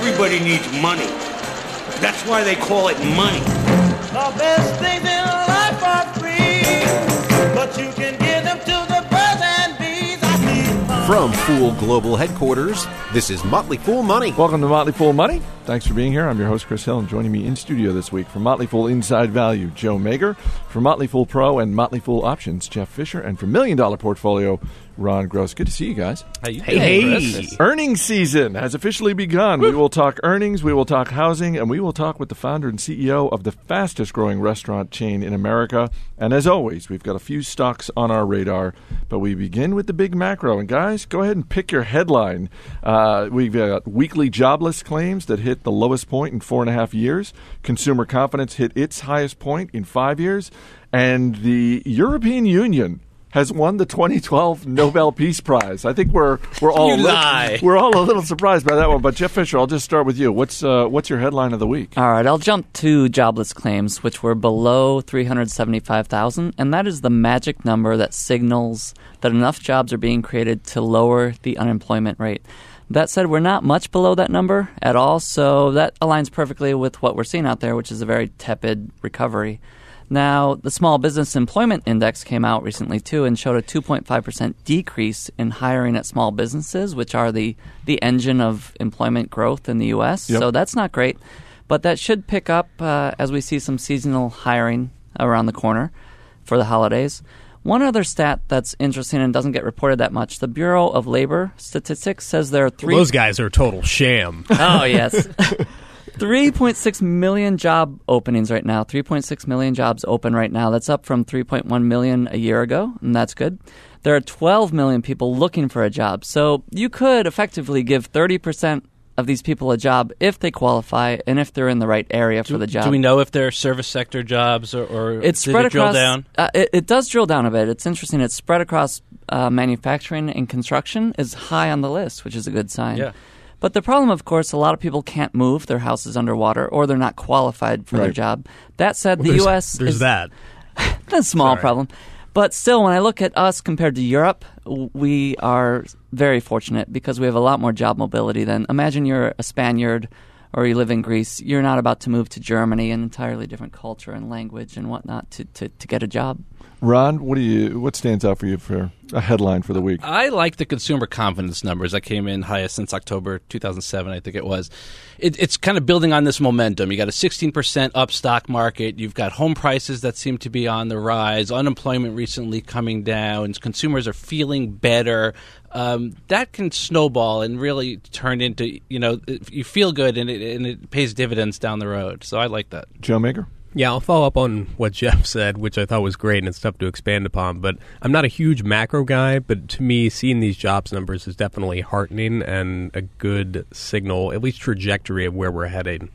Everybody needs money. That's why they call it money. The best things in life are free, but you can give them to the birds and bees. I need money. From Fool Global Headquarters, this is Motley Fool Money. Welcome to Motley Fool Money. Thanks for being here. I'm your host, Chris Hill, and joining me in studio this week from Motley Fool Inside Value, Joe Mager. From Motley Fool Pro and Motley Fool Options, Jeff Fisher. And from $1 Million Portfolio, Ron Gross. Good to see you guys. How you doing, Chris? Earnings season has officially begun. We will talk earnings, we will talk housing, and we will talk with the founder and CEO of the fastest-growing restaurant chain in America. And as always, we've got a few stocks on our radar, but we begin with the big macro. And guys, go ahead and pick your headline. We've got weekly jobless claims that hit the lowest point in 4.5 years. Consumer confidence hit its highest point in 5 years. And the European Union has won the 2012 Nobel Peace Prize. I think we're all a little surprised by that one. But Jeff Fisher, I'll just start with you. What's your headline of the week? All right, I'll jump to jobless claims, which were below 375,000, and that is the magic number that signals that enough jobs are being created to lower the unemployment rate. That said, we're not much below that number at all, so that aligns perfectly with what we're seeing out there, which is a very tepid recovery. Now, the Small Business Employment Index came out recently, too, and showed a 2.5% decrease in hiring at small businesses, which are the engine of employment growth in the U.S. Yep. So that's not great. But that should pick up as we see some seasonal hiring around the corner for the holidays. One other stat that's interesting and doesn't get reported that much, the Bureau of Labor Statistics says there are those guys are a total sham. Oh, yes. 3.6 million job openings right now. 3.6 million jobs open right now. That's up from 3.1 million a year ago, and that's good. There are 12 million people looking for a job. So you could effectively give 30% of these people a job if they qualify and if they're in the right area for the job. Do we know if they're service sector jobs or it's spread drill across, down? It does drill down a bit. It's interesting. It's spread across manufacturing and construction is high on the list, which is a good sign. Yeah. But the problem, of course, a lot of people can't move. Their house is underwater or they're not qualified for their job. That said, the U.S. There's that. That's a small problem. But still, when I look at us compared to Europe, we are very fortunate because we have a lot more job mobility than, imagine you're a Spaniard or you live in Greece. You're not about to move to Germany, an entirely different culture and language and whatnot to get a job. Ron, what stands out for you for a headline for the week? I like the consumer confidence numbers that came in highest since October 2007, I think it was. It's kind of building on this momentum. You got a 16% up stock market. You've got home prices that seem to be on the rise. Unemployment recently coming down. Consumers are feeling better. That can snowball and really turn into, you feel good and it pays dividends down the road. So I like that. Joe Mager? Yeah, I'll follow up on what Jeff said, which I thought was great, and it's tough to expand upon. But I'm not a huge macro guy, but to me, seeing these jobs numbers is definitely heartening and a good signal, at least trajectory of where we're heading.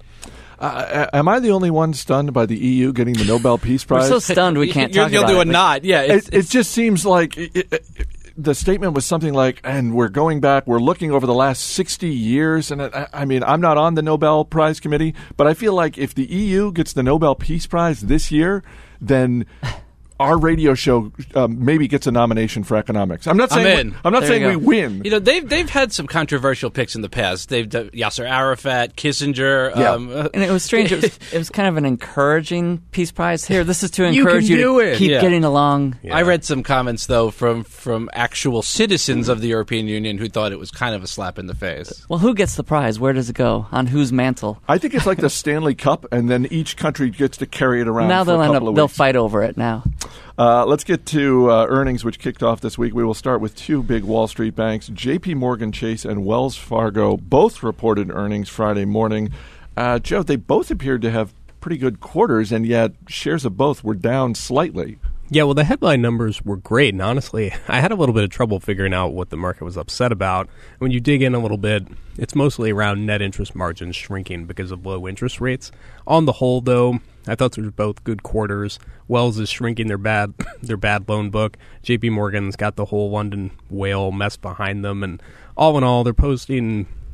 Am I the only one stunned by the EU getting the Nobel Peace Prize? We're so stunned we can't talk about it. You're the only one not. Yeah, it just seems like... the statement was something like, and we're looking over the last 60 years. And I mean, I'm not on the Nobel Prize committee, but I feel like if the EU gets the Nobel Peace Prize this year, then our radio show maybe gets a nomination for economics. I'm not saying we win. They've had some controversial picks in the past. They've done Yasser Arafat, Kissinger. Yeah. And it was strange. It was kind of an encouraging Peace Prize. Here, this is to encourage you to keep getting along. Yeah. I read some comments, though, from actual citizens of the European Union who thought it was kind of a slap in the face. Well, who gets the prize? Where does it go? On whose mantle? I think it's like the Stanley Cup, and then each country gets to carry it around now for a couple of weeks. They'll fight over it now. Let's get to earnings, which kicked off this week. We will start with two big Wall Street banks. J.P. Morgan Chase and Wells Fargo both reported earnings Friday morning. Joe, they both appeared to have pretty good quarters, and yet shares of both were down slightly. Yeah, well, the headline numbers were great, and honestly, I had a little bit of trouble figuring out what the market was upset about. When you dig in a little bit, it's mostly around net interest margins shrinking because of low interest rates. On the whole, though, I thought they were both good quarters. Wells is shrinking their bad loan book. J.P. Morgan's got the whole London whale mess behind them, and all in all, they're posting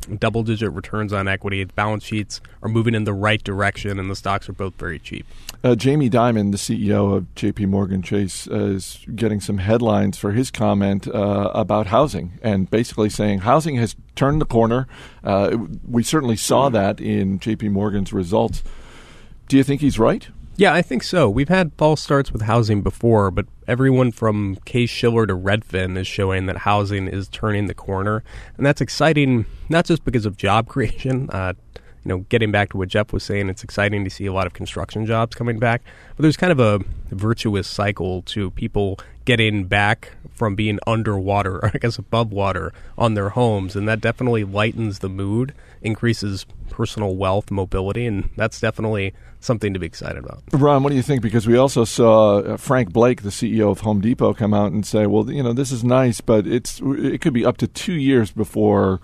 double-digit returns on equity. The balance sheets are moving in the right direction, and the stocks are both very cheap. Jamie Dimon, the CEO of J.P. Morgan Chase, is getting some headlines for his comment about housing, and basically saying housing has turned the corner. We certainly saw that in J.P. Morgan's results. Do you think he's right? Yeah, I think so. We've had false starts with housing before, but everyone from Case-Shiller to Redfin is showing that housing is turning the corner. And that's exciting, not just because of job creation. Getting back to what Jeff was saying, it's exciting to see a lot of construction jobs coming back. But there's kind of a virtuous cycle to people getting back from being underwater, or I guess above water, on their homes. And that definitely lightens the mood, increases personal wealth, mobility, and that's definitely something to be excited about. Ron, what do you think? Because we also saw Frank Blake, the CEO of Home Depot, come out and say, well, this is nice, but it could be up to 2 years before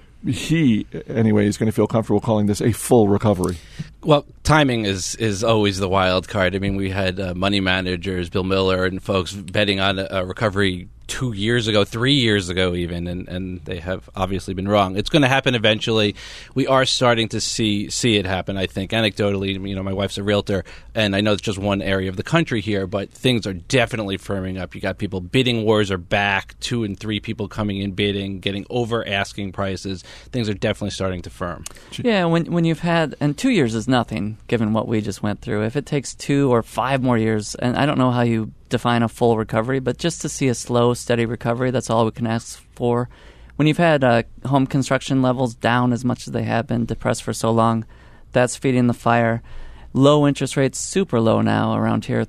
he, anyway, is going to feel comfortable calling this a full recovery. Well, timing is always the wild card. I mean, we had money managers, Bill Miller, and folks betting on a recovery 2 years ago, 3 years ago even, and they have obviously been wrong. It's going to happen eventually. We are starting to see it happen, I think. Anecdotally, my wife's a realtor, and I know it's just one area of the country here, but things are definitely firming up. You got people, bidding wars are back, 2 and 3 people coming in bidding, getting over asking prices. Things are definitely starting to firm. Yeah, when you've had, and 2 years is nothing given what we just went through. If it takes 2 or 5 more years, and I don't know how you define a full recovery, but just to see a slow, steady recovery, that's all we can ask for. When you've had home construction levels down as much as they have been, depressed for so long, that's feeding the fire. Low interest rates, super low now, around here,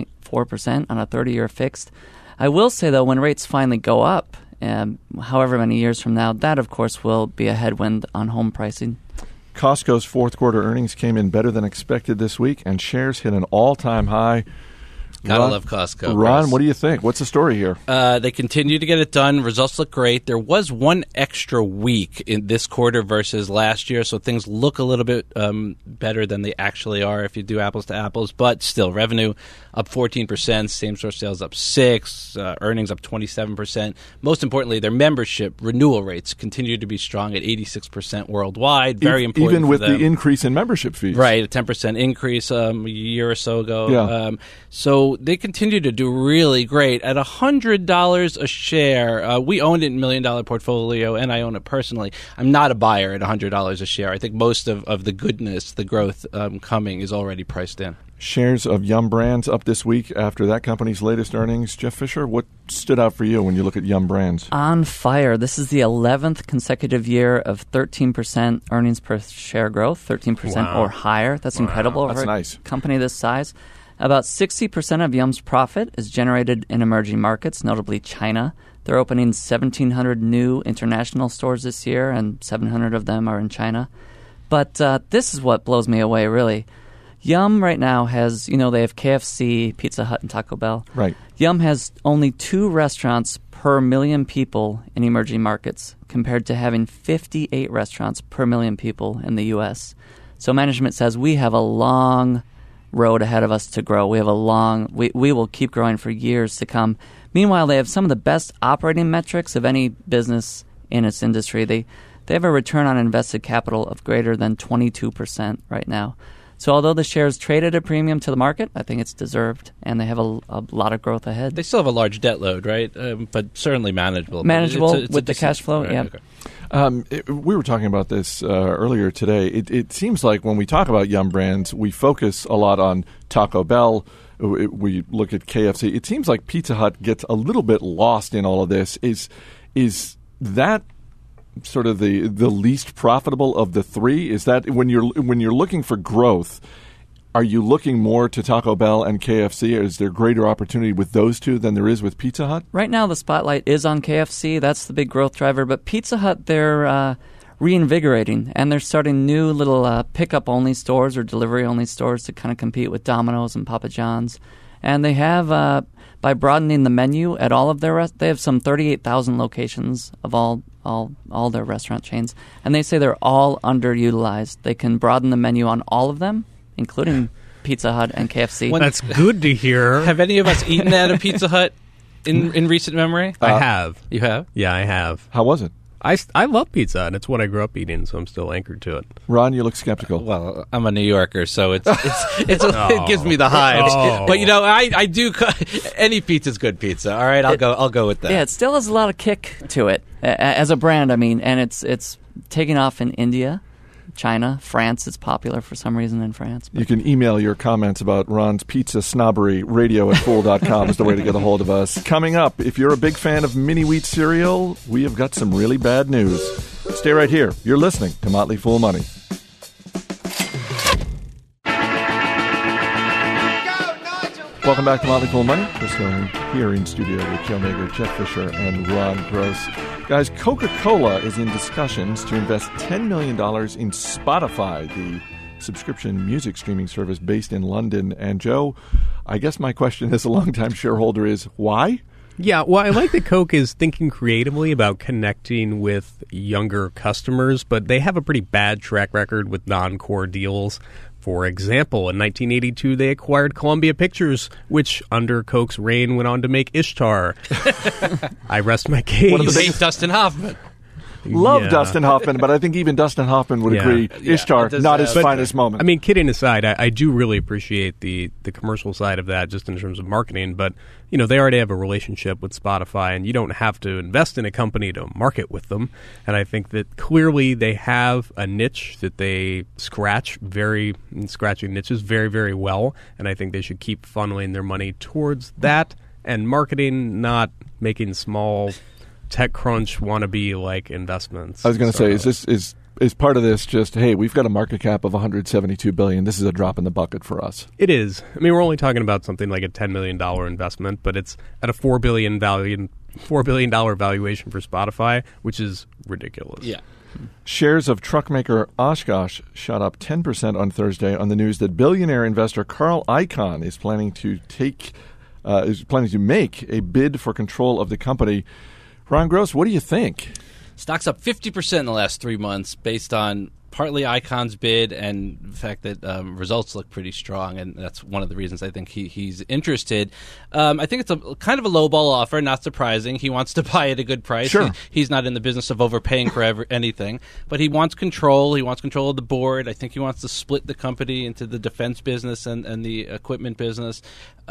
3.4% on a 30-year fixed. I will say, though, when rates finally go up, however many years from now, that, of course, will be a headwind on home pricing. Costco's fourth quarter earnings came in better than expected this week, and shares hit an all-time high. Gotta love Costco. Ron, Chris. what do you think? What's the story here? They continue to get it done. Results look great. There was one extra week in this quarter versus last year, so things look a little bit better than they actually are if you do apples to apples. But still, revenue up 14%, same-store sales up 6%, earnings up 27%. Most importantly, their membership renewal rates continue to be strong at 86% worldwide. Very important even with for them. The increase in membership fees. Right, a 10% increase a year or so ago. Yeah. So they continue to do really great. At $100 a share, we owned it in $1 million portfolio, and I own it personally. I'm not a buyer at $100 a share. I think most of the goodness, the growth coming is already priced in. Shares of Yum Brands up this week after that company's latest earnings. Jeff Fisher, what stood out for you when you look at Yum Brands? On fire. This is the 11th consecutive year of 13% earnings per share growth, 13% or higher. That's incredible That's for nice. a company this size. About 60% of Yum's profit is generated in emerging markets, notably China. They're opening 1,700 new international stores this year, and 700 of them are in China. But this is what blows me away, really. Yum right now has, they have KFC, Pizza Hut, and Taco Bell. Right. Yum has only 2 restaurants per million people in emerging markets, compared to having 58 restaurants per million people in the U.S. So management says we have a long road ahead of us to grow. We will keep growing for years to come. Meanwhile, they have some of the best operating metrics of any business in its industry. They have a return on invested capital of greater than 22% right now. So although the shares trade at a premium to the market, I think it's deserved, and they have a lot of growth ahead. They still have a large debt load, right? But certainly manageable. Manageable it's with the cash flow, right, yeah. Okay. We were talking about this earlier today. It seems like when we talk about Yum Brands, we focus a lot on Taco Bell. We look at KFC. It seems like Pizza Hut gets a little bit lost in all of this. Is that sort of the least profitable of the three? Is that when you're looking for growth, are you looking more to Taco Bell and KFC, or is there greater opportunity with those two than there is with Pizza Hut? Right now, the spotlight is on KFC. That's the big growth driver. But Pizza Hut, they're reinvigorating, and they're starting new little pickup-only stores or delivery-only stores to kind of compete with Domino's and Papa John's. And they have, by broadening the menu at all of their they have some 38,000 locations of all their restaurant chains, and they say they're all underutilized. They can broaden the menu on all of them, including Pizza Hut and KFC. That's good to hear. Have any of us eaten at a Pizza Hut in recent memory? I have. You have? Yeah, I have. How was it? I love pizza, and it's what I grew up eating, so I'm still anchored to it. Ron, you look skeptical. Well, I'm a New Yorker, so it gives me the hives. Oh. But I do. Any pizza's good pizza. All right, I'll go with that. Yeah, it still has a lot of kick to it as a brand. I mean, and it's taking off in India, China, France. It's popular for some reason in France. You can email your comments about Ron's pizza snobbery. radio@fool.com is the way to get a hold of us. Coming up, if you're a big fan of mini wheat cereal, we have got some really bad news. Stay right here. You're listening to Motley Fool Money. Welcome back to Motley Fool Money. Chris Cohen here in studio with Joe Mager, Jeff Fisher, and Ron Gross. Guys, Coca-Cola is in discussions to invest $10 million in Spotify, the subscription music streaming service based in London. And Joe, I guess my question as a longtime shareholder is, why? Yeah, well, I like that Coke is thinking creatively about connecting with younger customers, but they have a pretty bad track record with non-core deals. For example, in 1982, they acquired Columbia Pictures, which under Coke's reign went on to make Ishtar. I rest my case. You hate Dustin Hoffman. Love Yeah. Dustin Hoffman, but I think even Dustin Hoffman would Yeah. agree Ishtar, it does not his have- finest moment. I mean, kidding aside, I do really appreciate the commercial side of that just in terms of marketing, but they already have a relationship with Spotify, and you don't have to invest in a company to market with them. And I think that clearly they have a niche that they scratching niches very, very well, and I think they should keep funneling their money towards that and marketing, not making small TechCrunch wannabe like investments. I was going to say, is part of this just, hey, we've got a market cap of $172 billion. This is a drop in the bucket for us. It is. I mean, we're only talking about something like a $10 million investment, but it's at a $4 billion valuation for Spotify, which is ridiculous. Yeah. Shares of truck maker Oshkosh shot up 10% on Thursday on the news that billionaire investor Carl Icahn is planning to make a bid for control of the company. Ron Gross, what do you think? Stock's up 50% in the last 3 months based on partly Icon's bid and the fact that results look pretty strong, and that's one of the reasons I think he's interested. I think it's a kind of a lowball offer, not surprising. He wants to buy at a good price. Sure. He's not in the business of overpaying for anything, but he wants control. He wants control of the board. I think he wants to split the company into the defense business and the equipment business.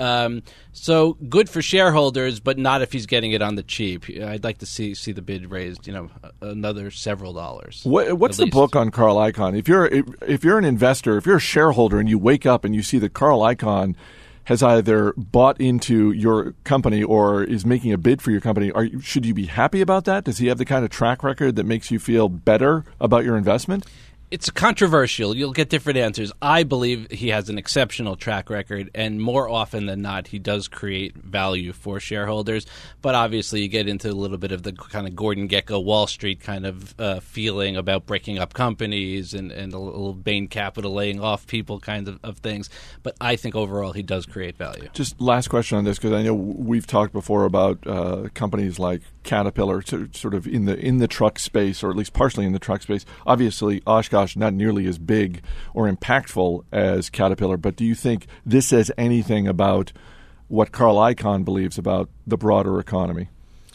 So good for shareholders, but not if he's getting it on the cheap. I'd like to see the bid raised, another several dollars. What's the book on Carl Icahn? If you're an investor, if you're a shareholder, and you wake up and you see that Carl Icahn has either bought into your company or is making a bid for your company, should you be happy about that? Does he have the kind of track record that makes you feel better about your investment? It's controversial. You'll get different answers. I believe he has an exceptional track record, and more often than not, he does create value for shareholders. But obviously, you get into a little bit of the kind of Gordon Gekko Wall Street kind of feeling about breaking up companies and a little Bain Capital laying off people kind of things. But I think overall, he does create value. Just last question on this, because I know we've talked before about companies like Caterpillar, sort of in the truck space, or at least partially in the truck space. Obviously, Oshkosh not nearly as big or impactful as Caterpillar, but do you think this says anything about what Carl Icahn believes about the broader economy?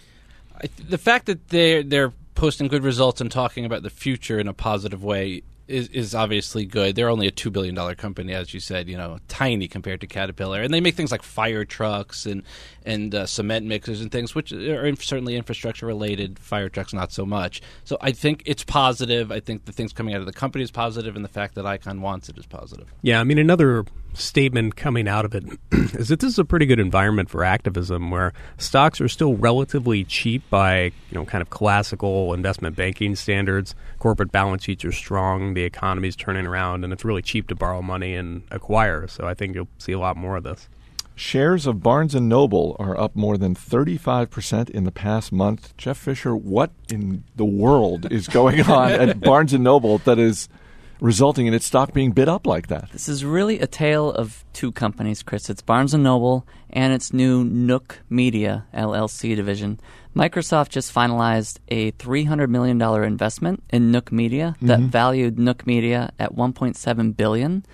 The fact that they're posting good results and talking about the future in a positive way is obviously good. They're only a $2 billion company, as you said, tiny compared to Caterpillar. And they make things like fire trucks and cement mixers and things, which are certainly infrastructure related. Fire trucks, not so much. So I think it's positive. I think the things coming out of the company is positive, and the fact that Icahn wants it is positive. Yeah, I mean, another statement coming out of it is that this is a pretty good environment for activism, where stocks are still relatively cheap by kind of classical investment banking standards. Corporate balance sheets are strong, the economy's turning around, and it's really cheap to borrow money and acquire. So I think you'll see a lot more of this. Shares of Barnes & Noble are up more than 35% in the past month. Jeff Fisher, what in the world is going on at Barnes & Noble that is resulting in its stock being bid up like that? This is really a tale of two companies, Chris. It's Barnes & Noble and its new Nook Media, LLC division. Microsoft just finalized a $300 million investment in Nook Media that valued Nook Media at $1.7 billion,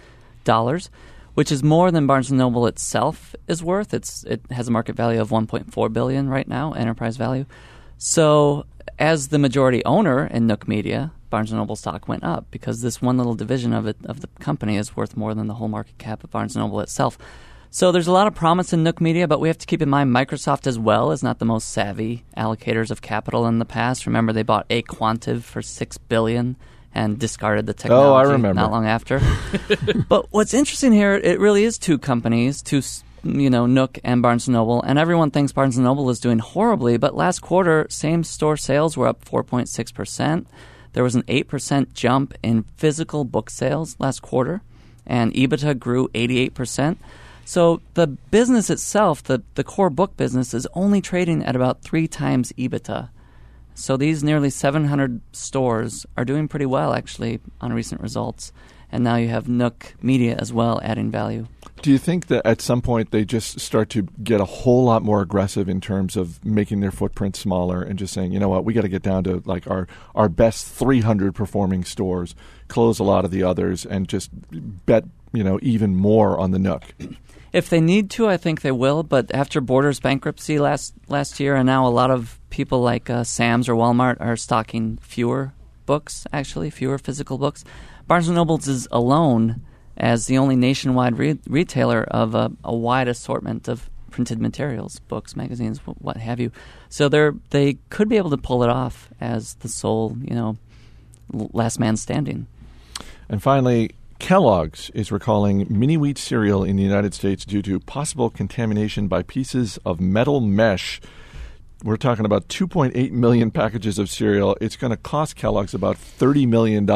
which is more than Barnes & Noble itself is worth. It has a market value of $1.4 billion right now, enterprise value. So as the majority owner in Nook Media, Barnes & Noble stock went up because this one little division of the company is worth more than the whole market cap of Barnes & Noble itself. So there's a lot of promise in Nook Media, but we have to keep in mind Microsoft as well is not the most savvy allocators of capital in the past. Remember, they bought Quantive for $6 billion and discarded the technology not long after. But what's interesting here, it really is two companies, Nook and Barnes & Noble, and everyone thinks Barnes & Noble is doing horribly, but last quarter, same-store sales were up 4.6%. There was an 8% jump in physical book sales last quarter, and EBITDA grew 88%. So the business itself, the core book business, is only trading at about 3 times EBITDA. So these nearly 700 stores are doing pretty well, actually, on recent results. And now you have Nook Media as well adding value. Do you think that at some point they just start to get a whole lot more aggressive in terms of making their footprint smaller and just saying, you know what, we got to get down to like our best 300 performing stores, close a lot of the others, and just bet even more on the Nook? If they need to, I think they will. But after Borders bankruptcy last year, and now a lot of people like Sam's or Walmart are stocking fewer books, actually, fewer physical books. Barnes & Noble is alone as the only nationwide retailer of a wide assortment of printed materials, books, magazines, what have you. So they could be able to pull it off as the sole, last man standing. And finally, Kellogg's is recalling mini-wheat cereal in the United States due to possible contamination by pieces of metal mesh. We're talking about 2.8 million packages of cereal. It's going to cost Kellogg's about $30 million.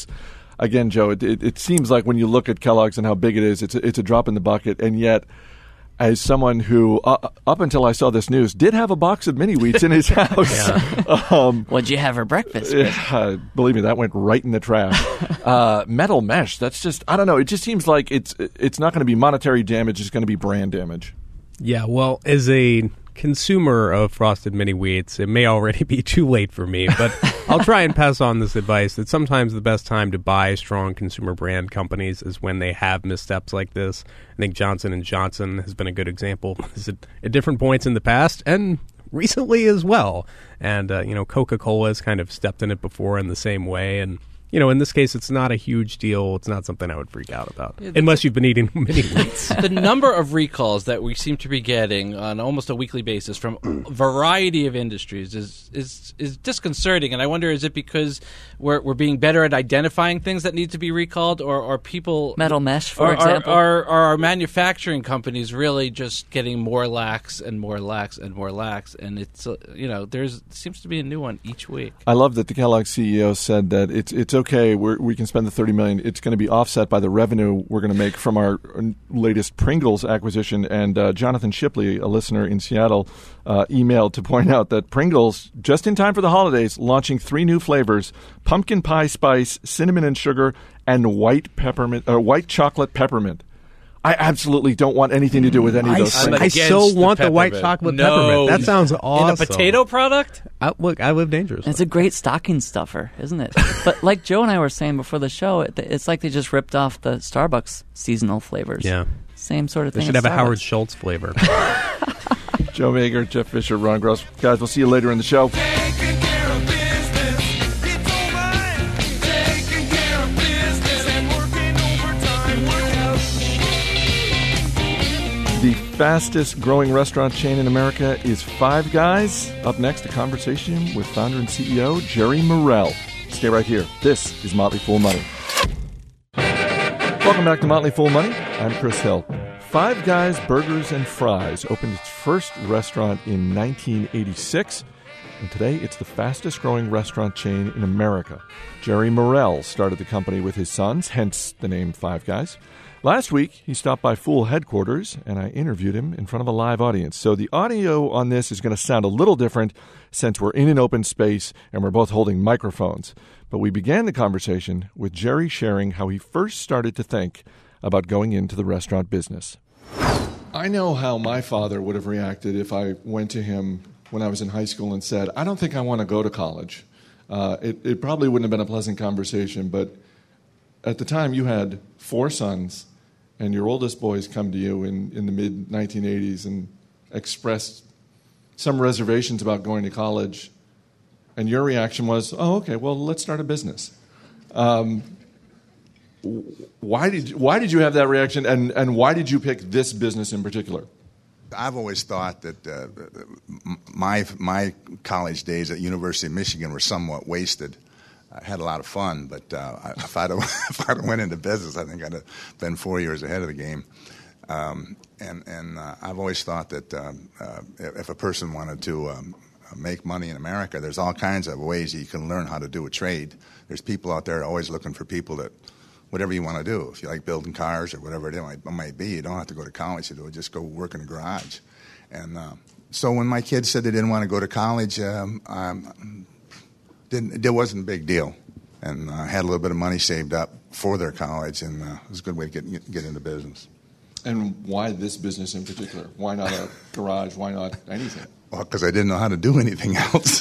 Again, Joe, it seems like when you look at Kellogg's and how big it is, it's a drop in the bucket. And yet, as someone who, up until I saw this news, did have a box of mini-wheats in his house. What'd you have for breakfast? Believe me, that went right in the trash. Metal mesh, that's just, I don't know. It just seems like it's not going to be monetary damage. It's going to be brand damage. Yeah, well, as a consumer of Frosted Mini Wheats, it may already be too late for me, but I'll try and pass on this advice that sometimes the best time to buy strong consumer brand companies is when they have missteps like this. I think Johnson & Johnson has been a good example at different points in the past and recently as well. And, Coca-Cola has kind of stepped in it before in the same way, and in this case, it's not a huge deal. It's not something I would freak out about, unless you've been eating mini wheats. The number of recalls that we seem to be getting on almost a weekly basis from a variety of industries is disconcerting. And I wonder, is it because we're being better at identifying things that need to be recalled, or people metal mesh, for example? Are our manufacturing companies really just getting more lax and more lax and more lax? And it's there seems to be a new one each week. I love that the Kellogg CEO said that it's okay, we can spend the $30 million. It's going to be offset by the revenue we're going to make from our latest Pringles acquisition. And Jonathan Shipley, a listener in Seattle, emailed to point out that Pringles, just in time for the holidays, launching 3 new flavors: pumpkin pie spice, cinnamon and sugar, and white chocolate peppermint. I absolutely don't want anything to do with any of those things. I so want the white chocolate peppermint. That sounds awesome. In a potato product? Look, I live dangerously. It's a great stocking stuffer, isn't it? But like Joe and I were saying before the show, it's like they just ripped off the Starbucks seasonal flavors. Yeah. Same sort of thing. They should have a Howard Schultz flavor. Joe Mager, Jeff Fisher, Ron Gross. Guys, we'll see you later in the show. The fastest growing restaurant chain in America is Five Guys. Up next, a conversation with founder and CEO Jerry Morrell. Stay right here. This is Motley Fool Money. Welcome back to Motley Fool Money. I'm Chris Hill. Five Guys Burgers and Fries opened its first restaurant in 1986, and today it's the fastest growing restaurant chain in America. Jerry Morrell started the company with his sons, hence the name Five Guys. Last week, he stopped by Fool headquarters, and I interviewed him in front of a live audience. So the audio on this is going to sound a little different since we're in an open space and we're both holding microphones. But we began the conversation with Jerry sharing how he first started to think about going into the restaurant business. I know how my father would have reacted if I went to him when I was in high school and said, I don't think I want to go to college. It probably wouldn't have been a pleasant conversation, but at the time you had 4 sons, and your oldest boys come to you in the mid-1980s and expressed some reservations about going to college. And your reaction was, oh, okay, well, let's start a business. Why did you have that reaction, and why did you pick this business in particular? I've always thought that my college days at University of Michigan were somewhat wasted. I had a lot of fun, but if I'd have went into business, I think I'd have been 4 years ahead of the game. And I've always thought that if a person wanted to make money in America, there's all kinds of ways you can learn how to do a trade. There's people out there always looking for people that, whatever you want to do. If you like building cars or whatever it might be, you don't have to go to college to do it. Just go work in a garage. And so when my kids said they didn't want to go to college, there wasn't a big deal. And I had a little bit of money saved up for their college, and it was a good way to get into business. And why this business in particular? Why not a garage? Why not anything? Well, because I didn't know how to do anything else.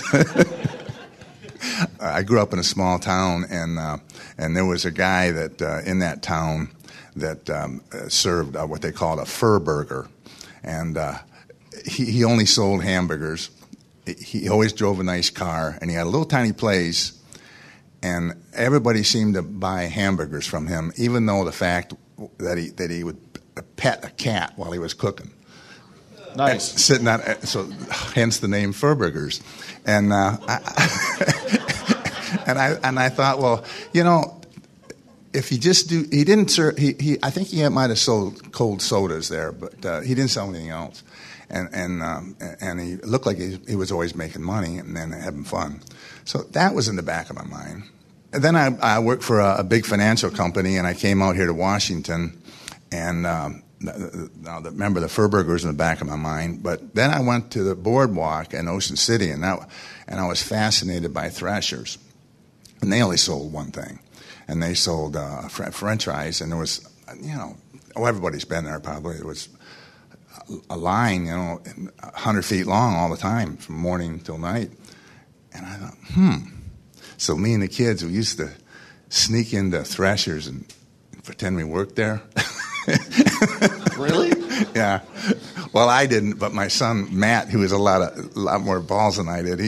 I grew up in a small town, and there was a guy that in that town that served what they called a fur burger, and he only sold hamburgers. He always drove a nice car, and he had a little tiny place, and everybody seemed to buy hamburgers from him, even though the fact that he would pet a cat while he was cooking. Nice. Sitting on, so hence the name Furburgers. And I thought, well, you know, if he just he didn't serve, I think he might have sold cold sodas there, but he didn't sell anything else. And he looked like he was always making money and then having fun. So that was in the back of my mind. And then I worked for a big financial company, and I came out here to Washington, and remember the Furburgers in the back of my mind. But then I went to the boardwalk in Ocean City, and I was fascinated by Thrashers. And they only sold one thing, and they sold French fries. And there was, you know, everybody's been there probably. There was a line, you know, 100 feet long all the time from morning till night. And I thought, So me and the kids, we used to sneak into Thrashers and pretend we worked there. Really? Yeah. Well, I didn't, but my son Matt, who has a lot more balls than I did,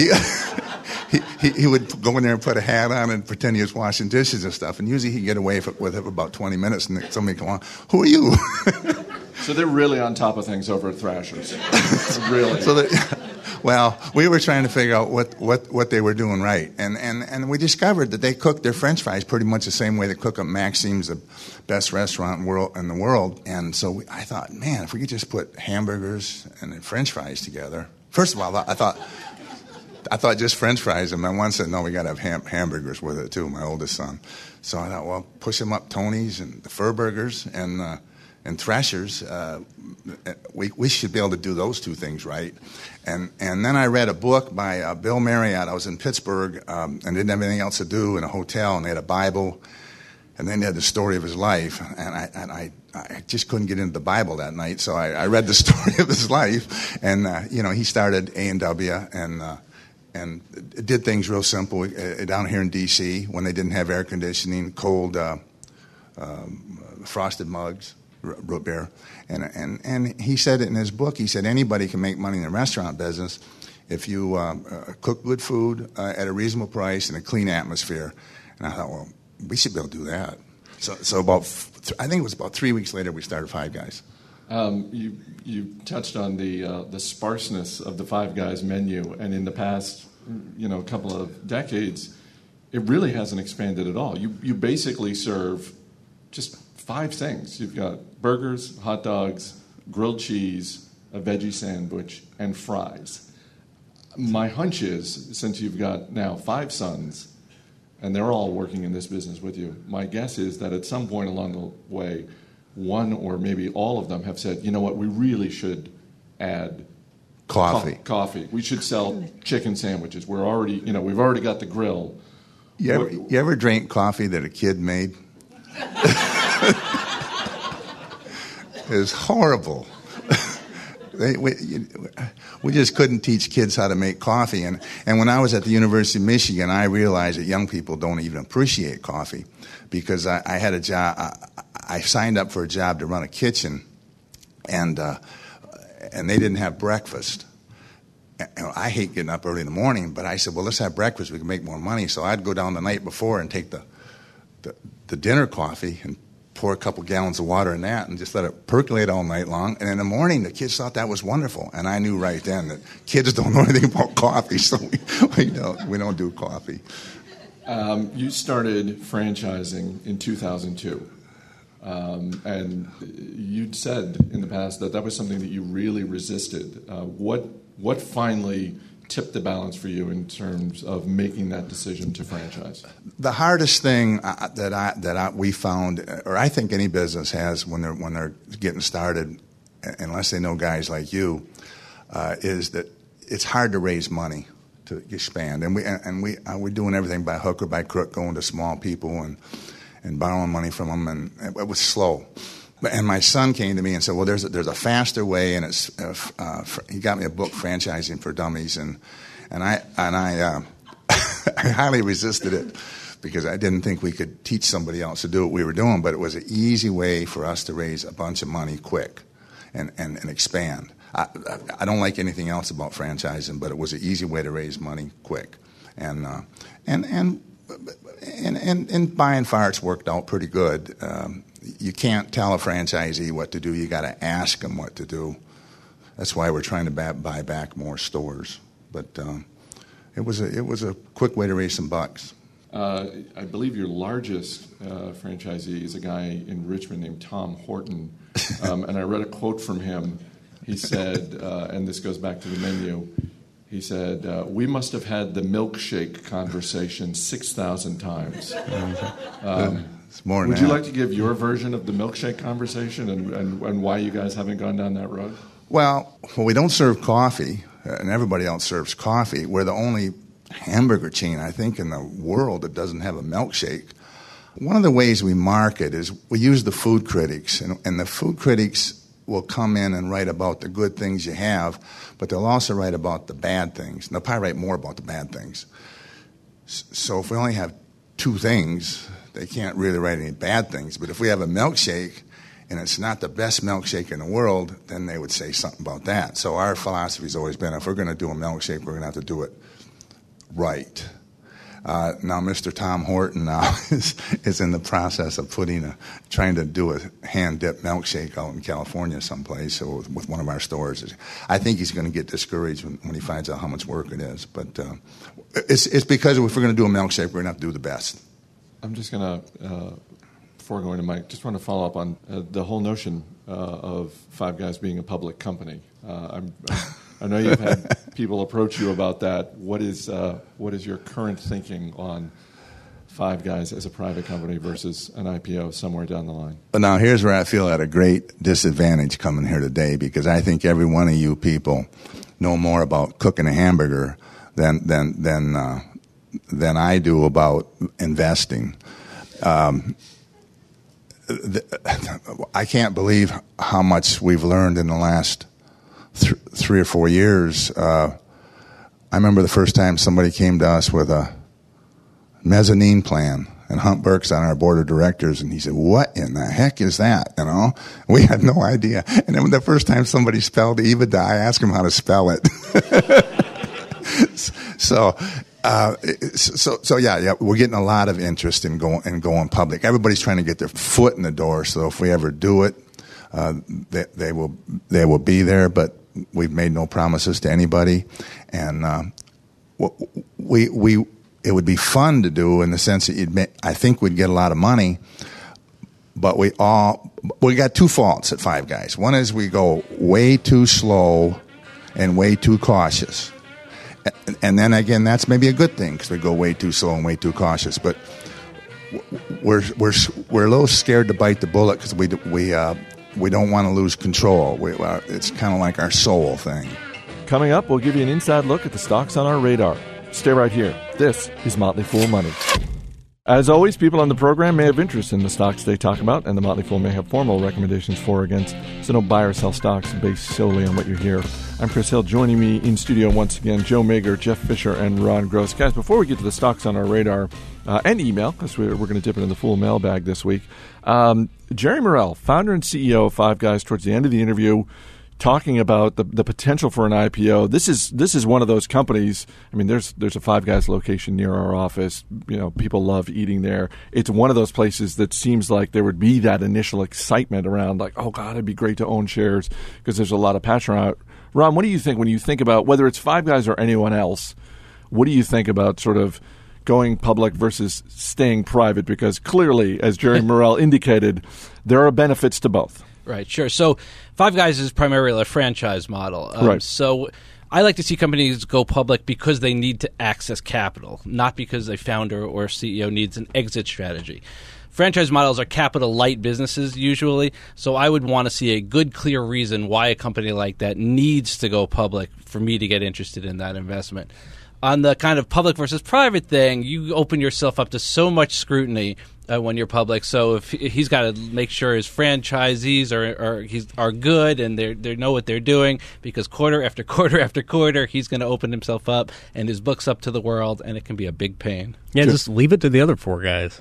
he would go in there and put a hat on and pretend he was washing dishes and stuff. And usually he'd get away with it for about 20 minutes, and then somebody come on, "Who are you?" So they're really on top of things over at Thrashers. Really. Well, we were trying to figure out what they were doing right, and we discovered that they cooked their French fries pretty much the same way they cook them. Maxime's the best restaurant in the world, and so I thought, man, if we could just put hamburgers and French fries together. First of all, I thought just French fries, and my one said, no, we got to have hamburgers with it too. My oldest son, so I thought, well, push them up Tony's and the Furburgers and Thrashers. We should be able to do those two things right. And then I read a book by Bill Marriott. I was in Pittsburgh and didn't have anything else to do in a hotel, and they had a Bible, and then they had the story of his life. And I just couldn't get into the Bible that night, so I read the story of his life. And he started A&W and did things real simple down here in D.C. when they didn't have air conditioning, cold frosted mugs. Root beer, and he said it in his book. He said anybody can make money in the restaurant business if you cook good food at a reasonable price in a clean atmosphere. And I thought, well, we should be able to do that. So I think it was about 3 weeks later we started Five Guys. You touched on the sparseness of the Five Guys menu, and in the past, couple of decades, it really hasn't expanded at all. You basically serve just 5 things. You've got burgers, hot dogs, grilled cheese, a veggie sandwich, and fries. My hunch is, since you've got now 5 sons, and they're all working in this business with you, my guess is that at some point along the way, one or maybe all of them have said, you know what, we really should add coffee. We should sell chicken sandwiches. We've already got the grill. You ever drank coffee that a kid made? It was horrible. We just couldn't teach kids how to make coffee. And when I was at the University of Michigan, I realized that young people don't even appreciate coffee, because I had a job. I signed up for a job to run a kitchen, and they didn't have breakfast. I hate getting up early in the morning, but I said, well, let's have breakfast. We can make more money. So I'd go down the night before and take the dinner coffee and pour a couple gallons of water in that and just let it percolate all night long. And in the morning, the kids thought that was wonderful. And I knew right then that kids don't know anything about coffee, so we don't do coffee. You started franchising in 2002. And you'd said in the past that was something that you really resisted. What finally tipped the balance for you in terms of making that decision to franchise? The hardest thing we found, or I think any business has when they're getting started, unless they know guys like you, is that it's hard to raise money to expand. And we're doing everything by hook or by crook, going to small people and borrowing money from them, and it was slow. And my son came to me and said, well, there's a faster way, and it's he got me a book, Franchising for Dummies, and I I highly resisted it because I didn't think we could teach somebody else to do what we were doing, but it was an easy way for us to raise a bunch of money quick and expand. I don't like anything else about franchising, but it was an easy way to raise money quick, and by and far it's worked out pretty good. You can't tell a franchisee what to do. You got to ask them what to do. That's why we're trying to buy back more stores. But it was a quick way to raise some bucks. I believe your largest franchisee is a guy in Richmond named Tom Horton, and I read a quote from him. He said, and this goes back to the menu. He said, "We must have had the milkshake conversation 6,000 times." It's more than Would that. you like to give your version of the milkshake conversation and why you guys haven't gone down that road? Well, we don't serve coffee, and everybody else serves coffee. We're the only hamburger chain, I think, in the world that doesn't have a milkshake. One of the ways we market is we use the food critics, and the food critics will come in and write about the good things you have, but they'll also write about the bad things. And they'll probably write more about the bad things. So if we only have two things, they can't really write any bad things. But if we have a milkshake and it's not the best milkshake in the world, then they would say something about that. So our philosophy has always been, if we're going to do a milkshake, we're going to have to do it right. Now, Mr. Tom Horton now is in the process of trying to do a hand-dipped milkshake out in California someplace with one of our stores. I think he's going to get discouraged when he finds out how much work it is. But it's because if we're going to do a milkshake, we're going to have to do the best. I'm just going to, before going to Mike, just want to follow up on the whole notion of Five Guys being a public company. I know you've had people approach you about that. What is your current thinking on Five Guys as a private company versus an IPO somewhere down the line? Now, here's where I feel at a great disadvantage coming here today, because I think every one of you people know more about cooking a hamburger than I do about investing. I can't believe how much we've learned in the last 3 or 4 years. I remember the first time somebody came to us with a mezzanine plan, and Hunt Burke's on our board of directors, and he said, "What in the heck is that?" You know, we had no idea. And then the first time somebody spelled EBITDA, I asked him how to spell it. So yeah, we're getting a lot of interest in going public. Everybody's trying to get their foot in the door. So if we ever do it, they will be there. But we've made no promises to anybody, and it would be fun to do in the sense that I think we'd get a lot of money. But we got two faults at Five Guys. One is we go way too slow and way too cautious. And then again, that's maybe a good thing because we go way too slow and way too cautious. But we're a little scared to bite the bullet because we don't want to lose control. It's kind of like our soul thing. Coming up, we'll give you an inside look at the stocks on our radar. Stay right here. This is Motley Fool Money. As always, people on the program may have interest in the stocks they talk about, and the Motley Fool may have formal recommendations for or against, so don't buy or sell stocks based solely on what you hear. I'm Chris Hill. Joining me in studio once again, Joe Mager, Jeff Fisher, and Ron Gross. Guys, before we get to the stocks on our radar, and email, because we're going to dip it in the full mailbag this week, Jerry Morrell, founder and CEO of Five Guys, towards the end of the interview, talking about the potential for an IPO. This is one of those companies. I mean, there's a Five Guys location near our office. People love eating there. It's one of those places that seems like there would be that initial excitement around, like, oh God, it'd be great to own shares because there's a lot of passion around it. Ron, what do you think when you think about whether it's Five Guys or anyone else? What do you think about sort of going public versus staying private? Because clearly, as Jerry Morrell indicated, there are benefits to both. Right, sure. So Five Guys is primarily a franchise model. Right. So I like to see companies go public because they need to access capital, not because a founder or CEO needs an exit strategy. Franchise models are capital-light businesses usually, so I would want to see a good, clear reason why a company like that needs to go public for me to get interested in that investment. On the kind of public versus private thing, you open yourself up to so much scrutiny when you're public. So if he's got to make sure his franchisees are good and they know what they're doing, because quarter after quarter after quarter, he's going to open himself up and his book's up to the world, and it can be a big pain. Yeah, just leave it to the other four guys.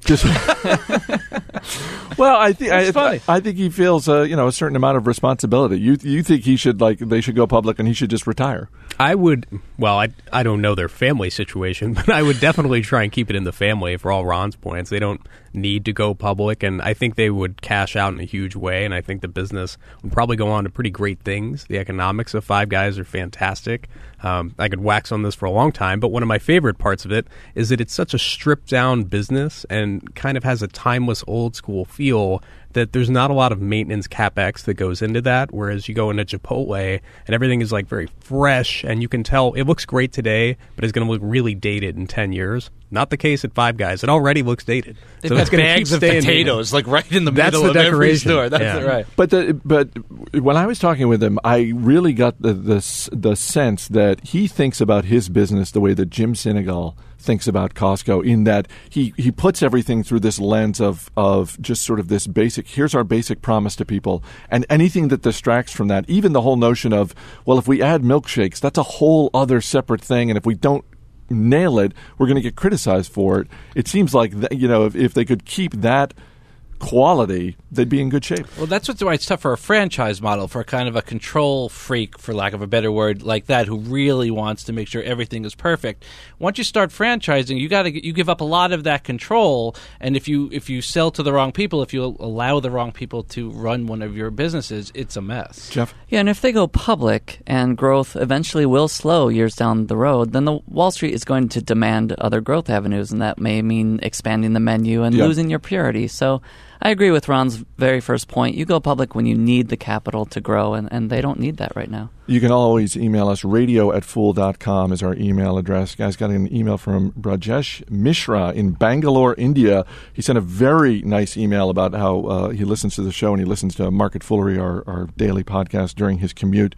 Well, I think he feels a certain amount of responsibility. You think they should go public and he should just retire? I would. Well, I don't know their family situation, but I would definitely try and keep it in the family. For all Ron's points, they don't need to go public, and I think they would cash out in a huge way. And I think the business would probably go on to pretty great things. The economics of Five Guys are fantastic. I could wax on this for a long time, but one of my favorite parts of it is that it's such a stripped down business and kind of has a timeless old school feel that there's not a lot of maintenance CapEx that goes into that, whereas you go into Chipotle and everything is like very fresh and you can tell it looks great today, but it's going to look really dated in 10 years. Not the case at Five Guys. It already looks dated. They've got bags of potatoes like right in the middle of every store. That's right. But when I was talking with him, I really got the sense that he thinks about his business the way that Jim Sinegal thinks about Costco, in that he puts everything through this lens of just sort of this basic, here's our basic promise to people, and anything that distracts from that, even the whole notion of, well, if we add milkshakes, that's a whole other separate thing, and if we don't nail it, we're going to get criticized for it. It seems like if they could keep that quality, they'd be in good shape. Well, that's why it's tough for a franchise model, for kind of a control freak, for lack of a better word, like that, who really wants to make sure everything is perfect. Once you start franchising, you give up a lot of that control, and if you sell to the wrong people, if you allow the wrong people to run one of your businesses, it's a mess. Jeff? Yeah, and if they go public and growth eventually will slow years down the road, then the Wall Street is going to demand other growth avenues, and that may mean expanding the menu and losing your purity. So I agree with Ron's very first point. You go public when you need the capital to grow, and they don't need that right now. You can always email us. radio@fool.com is our email address. Guys, got an email from Brajesh Mishra in Bangalore, India. He sent a very nice email about how he listens to the show and he listens to Market Foolery, our daily podcast, during his commute.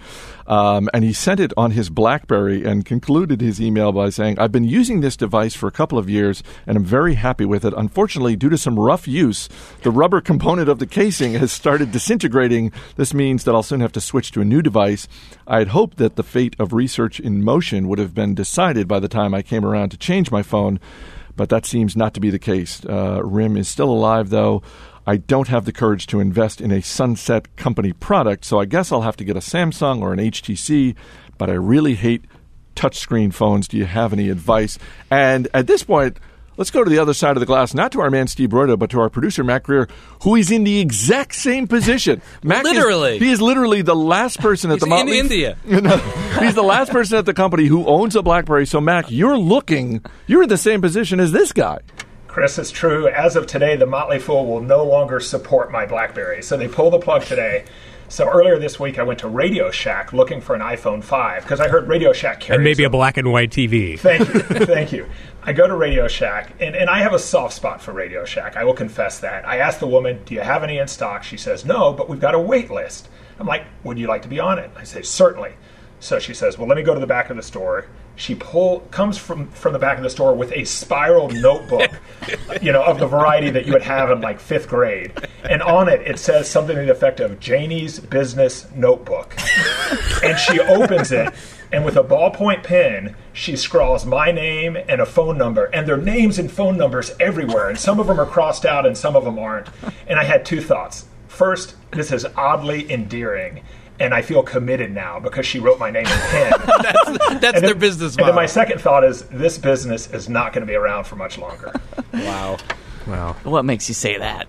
And he sent it on his BlackBerry and concluded his email by saying, I've been using this device for a couple of years and I'm very happy with it. Unfortunately, due to some rough use, the rubber component of the casing has started disintegrating. This means that I'll soon have to switch to a new device. I had hoped that the fate of Research in Motion would have been decided by the time I came around to change my phone, but that seems not to be the case. RIM is still alive, though. I don't have the courage to invest in a Sunset Company product, so I guess I'll have to get a Samsung or an HTC, but I really hate touchscreen phones. Do you have any advice? And at this point, let's go to the other side of the glass, not to our man Steve Broido, but to our producer Matt Greer, who is in the exact same position. Matt he is literally the last person at the Motley. In India. He's the last person at the company who owns a BlackBerry. So Mac, you're in the same position as this guy. Chris, it's true. As of today, the Motley Fool will no longer support my BlackBerry. So they pulled the plug today. So earlier this week, I went to Radio Shack looking for an iPhone 5 because I heard Radio Shack carries and maybe a black and white TV. Thank you. I go to Radio Shack, and I have a soft spot for Radio Shack. I will confess that. I asked the woman, do you have any in stock? She says, no, but we've got a wait list. I'm like, would you like to be on it? I say, certainly. So she says, well, let me go to the back of the store. She comes from the back of the store with a spiral notebook, of the variety that you would have in like 5th grade. And on it says something to the effect of Janie's Business Notebook. And she opens it, and with a ballpoint pen, she scrawls my name and a phone number. And there are names and phone numbers everywhere. And some of them are crossed out and some of them aren't. And I had two thoughts. First, this is oddly endearing. and I feel committed now because she wrote my name in pen. That's their business And model. then my second thought is this business is not going to be around for much longer. Wow. What makes you say that?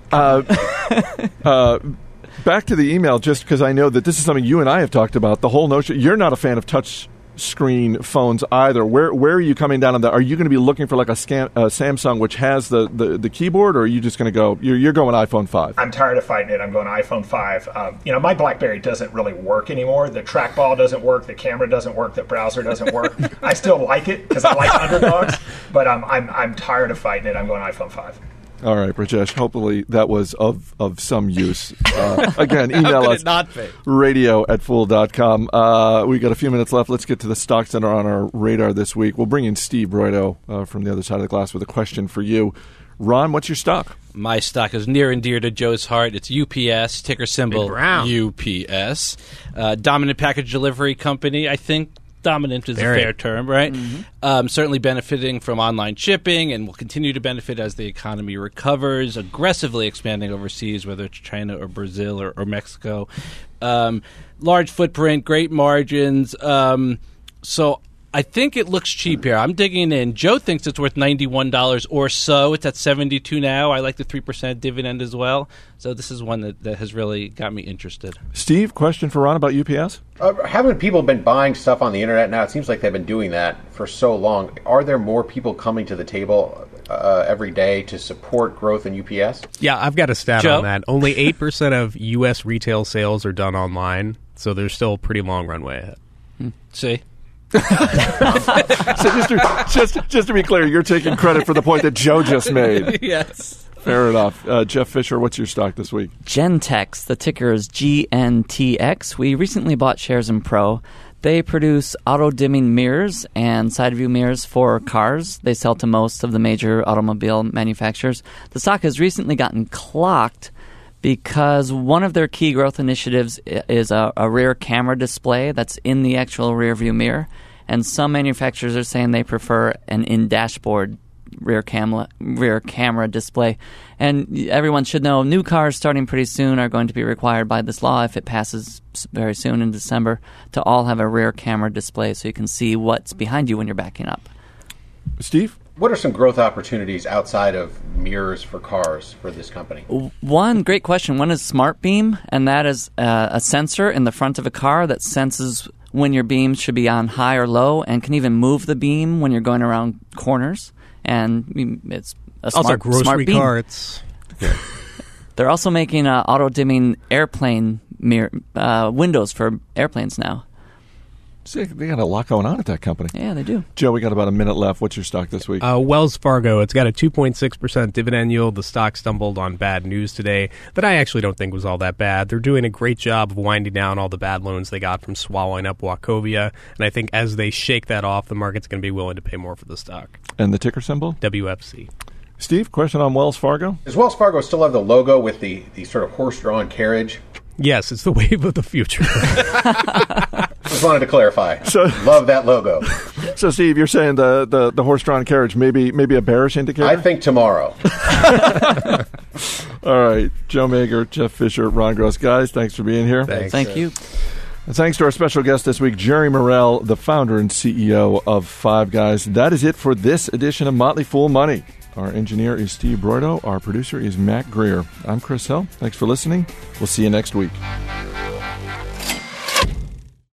Back to the email, just because I know that this is something you and I have talked about. The whole notion, you're not a fan of touch screen phones either. Where are you coming down on that? Are you going to be looking for like a Samsung which has the keyboard, or are you just going to go? You're going iPhone 5. I'm tired of fighting it. I'm going iPhone 5. My BlackBerry doesn't really work anymore. The trackball doesn't work. The camera doesn't work. The browser doesn't work. I still like it because I like underdogs, but I'm tired of fighting it. I'm going iPhone 5. All right, Brajesh, hopefully that was of some use. Again, email us, radio@fool.com. We got a few minutes left. Let's get to the stocks that are on our radar this week. We'll bring in Steve Broido from the other side of the glass with a question for you. Ron, what's your stock? My stock is near and dear to Joe's heart. It's UPS, ticker symbol UPS. Dominant package delivery company, I think. Dominant is a fair term, right? Mm-hmm. Certainly benefiting from online shipping and will continue to benefit as the economy recovers, aggressively expanding overseas, whether it's China or Brazil or Mexico. Large footprint, great margins. So I think it looks cheap here. I'm digging in. Joe thinks it's worth $91 or so. It's at $72 now. I like the 3% dividend as well. So this is one that has really got me interested. Steve, question for Ron about UPS? Haven't people been buying stuff on the internet now? It seems like they've been doing that for so long. Are there more people coming to the table every day to support growth in UPS? Yeah, I've got a stat Joe? on that. Only 8% of U.S. retail sales are done online, so there's still a pretty long runway ahead. See? So just to be clear, you're taking credit for the point that Joe just made. Yes. Fair enough. Jeff Fisher, what's your stock this week? Gentex, the ticker is GNTX. We recently bought shares in Pro. They produce auto-dimming mirrors and side view mirrors for cars. They sell to most of the major automobile manufacturers. The stock has recently gotten clocked because one of their key growth initiatives is a rear camera display that's in the actual rear view mirror. And some manufacturers are saying they prefer an in-dashboard rear camera display. And everyone should know new cars starting pretty soon are going to be required by this law, if it passes very soon in December, to all have a rear camera display so you can see what's behind you when you're backing up. Steve? What are some growth opportunities outside of mirrors for cars for this company? One great question. One is SmartBeam, and that is a sensor in the front of a car that senses when your beam should be on high or low and can even move the beam when you're going around corners. And it's a Also, grocery smart beam. carts. They're also making auto-dimming airplane windows for airplanes now. See, they got a lot going on at that company. Yeah, they do. Joe, we got about a minute left. What's your stock this week? Wells Fargo. It's got a 2.6% dividend yield. The stock stumbled on bad news today that I actually don't think was all that bad. They're doing a great job of winding down all the bad loans they got from swallowing up Wachovia. And I think as they shake that off, the market's going to be willing to pay more for the stock. And the ticker symbol? WFC. Steve, question on Wells Fargo? Does Wells Fargo still have the logo with the sort of horse-drawn carriage? Yes, it's the wave of the future. Just wanted to clarify. Love that logo. So, Steve, you're saying the horse-drawn carriage, maybe a bearish indicator? I think tomorrow. All right. Joe Mager, Jeff Fisher, Ron Gross. Guys, thanks for being here. Thank you. And thanks to our special guest this week, Jerry Morrell, the founder and CEO of Five Guys. That is it for this edition of Motley Fool Money. Our engineer is Steve Broido. Our producer is Matt Greer. I'm Chris Hill. Thanks for listening. We'll see you next week.